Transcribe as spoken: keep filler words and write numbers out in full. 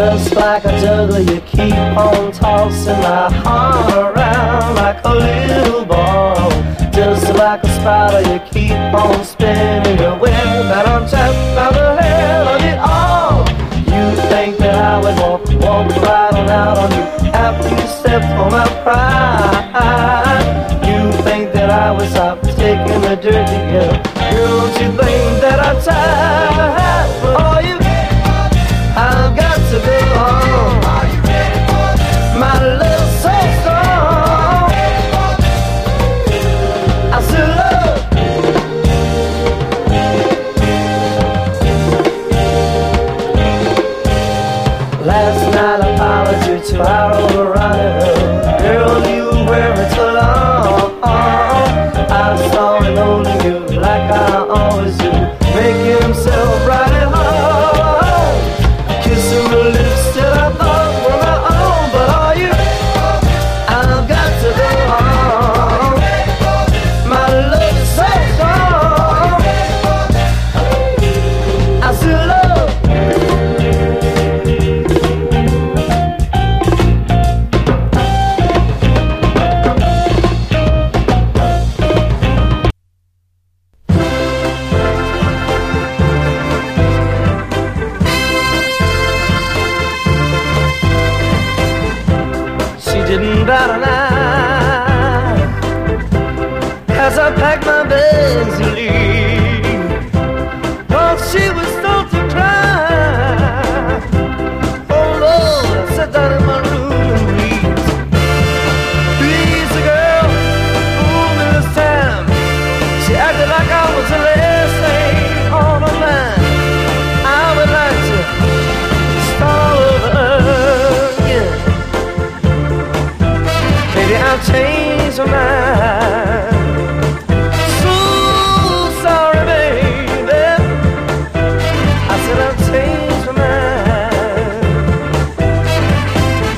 Just like a juggler, you keep on tossing my heart around like a little ball. Just like a spider, you keep on spinning your web, and I'm trapped by the hell of it all. You think that I would walk, walk right on out on you after you stepped on my pride? You think that I would stop taking the dirty girl? Girl, don't you think that I tried? Oh, you, I've got to go on. My love's so strong. I still love. Last night I followed you to our overrunner. Girl, you were wearing so long. I saw him holding you like I always do, making himself right at home, kissing the lips that I thought were my own. But are you? I've got to go on. My love is so strong. I still love. Didn't bat an eye as I packed my bags to leave. Oh, she was still to cry. Oh Lord, I sat down in my room and wept. Please, the girl fooled me this time. She acted like I was the last thing on her mind. I would like to start over again. Maybe I'll change my mind.